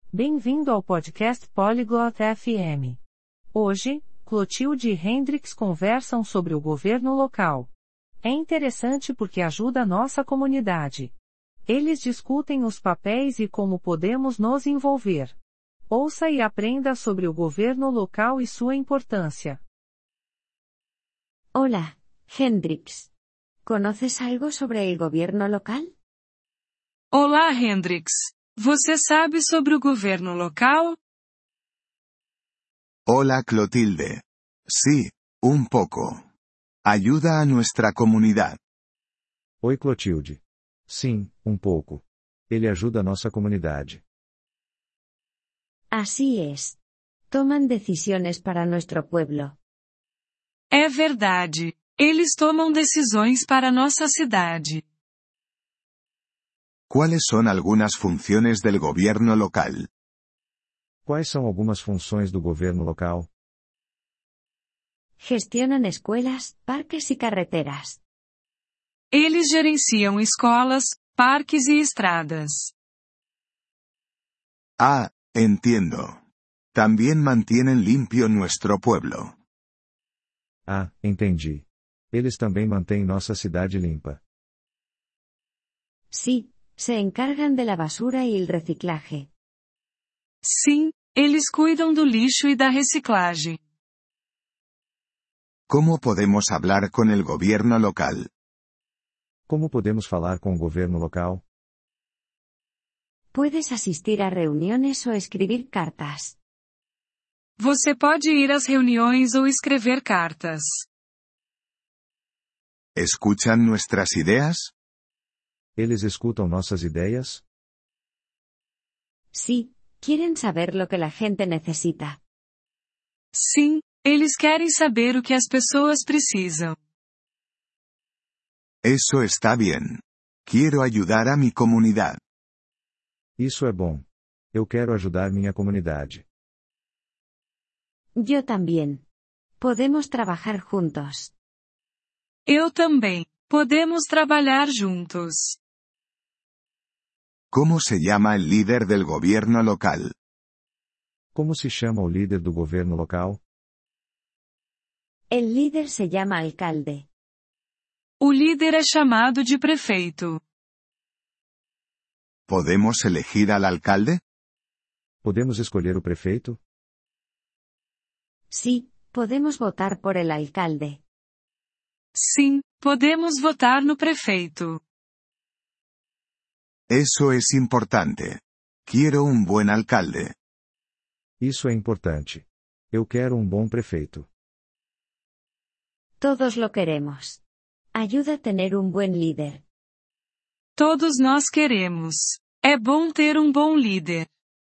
Bem-vindo ao podcast Polyglot FM. Hoje, Clotilde e Hendrix conversam sobre o governo local. É interessante porque ajuda a nossa comunidade. Eles discutem os papéis e como podemos nos envolver. Ouça e aprenda sobre o governo local e sua importância. Hola, Hendrix. ¿Conoces algo sobre el gobierno local? Olá, Hendrix. Você sabe sobre o governo local? Hola, Clotilde. Sí, un poco. Ayuda a nuestra comunidad. Oi, Clotilde. Sim, um pouco. Ele ajuda a nossa comunidade. Así es. Toman decisiones para nuestro pueblo. É verdade. Eles tomam decisões para nossa cidade. ¿Cuáles son algunas funciones del gobierno local? Quais são algumas funções do governo local? Gestionan escuelas, parques y carreteras. Eles gerenciam escolas, parques e estradas. Ah, entiendo. También mantienen limpio nuestro pueblo. Ah, entendi. Eles também mantêm nossa cidade limpa. Sí, se encargan de la basura y el reciclaje. Sim, eles cuidam do lixo e da reciclagem. ¿Cómo podemos hablar con el gobierno local? Como podemos falar com o governo local? Puedes asistir a reuniones o escribir cartas. Você pode ir às reuniões ou escrever cartas. ¿Escuchan nuestras ideas? Eles escutam nossas ideias? Sí, quieren saber lo que la gente necesita. Sim, eles querem saber o que as pessoas precisam. Eso está bien. Quiero ayudar a mi comunidad. Isso é bom. Eu quero ajudar minha comunidade. Yo también. Podemos trabajar juntos. Eu também. Podemos trabalhar juntos. ¿Cómo se llama el líder del gobierno local? Como se chama o líder do governo local? El líder se llama alcalde. O líder é chamado de prefeito. ¿Podemos elegir al alcalde? Podemos escolher o prefeito? Sí, podemos votar por el alcalde. Sim, podemos votar no prefeito. Eso es importante. Quiero un buen alcalde. Isso é importante. Eu quero um bom prefeito. Todos lo queremos. Ayuda a tener un buen líder. Todos nós queremos. É bom ter um bom líder.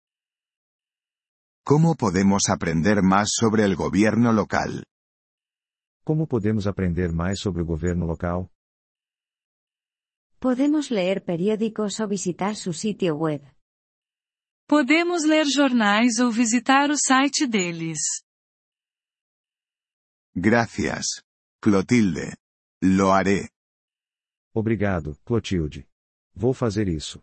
¿Cómo podemos aprender más sobre el gobierno local? Como podemos aprender mais sobre o governo local? Podemos leer periódicos o visitar su sitio web. Podemos ler jornais ou visitar o site deles. Gracias, Clotilde. Lo haré. Obrigado, Clotilde. Vou fazer isso.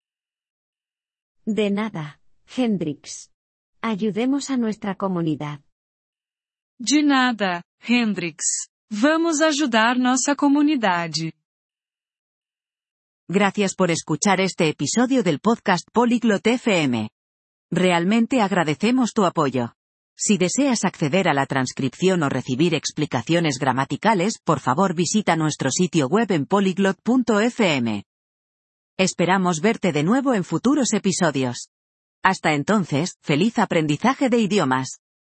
De nada, Hendrix. Ayudemos a nuestra comunidad. De nada, Hendrix. Vamos ajudar nossa comunidade. Gracias por escuchar este episodio del podcast Polyglot FM. Realmente agradecemos tu apoyo. Si deseas acceder a la transcripción o recibir explicaciones gramaticales, por favor visita nuestro sitio web en polyglot.fm. Esperamos verte de nuevo en futuros episodios. Hasta entonces, feliz aprendizaje de idiomas.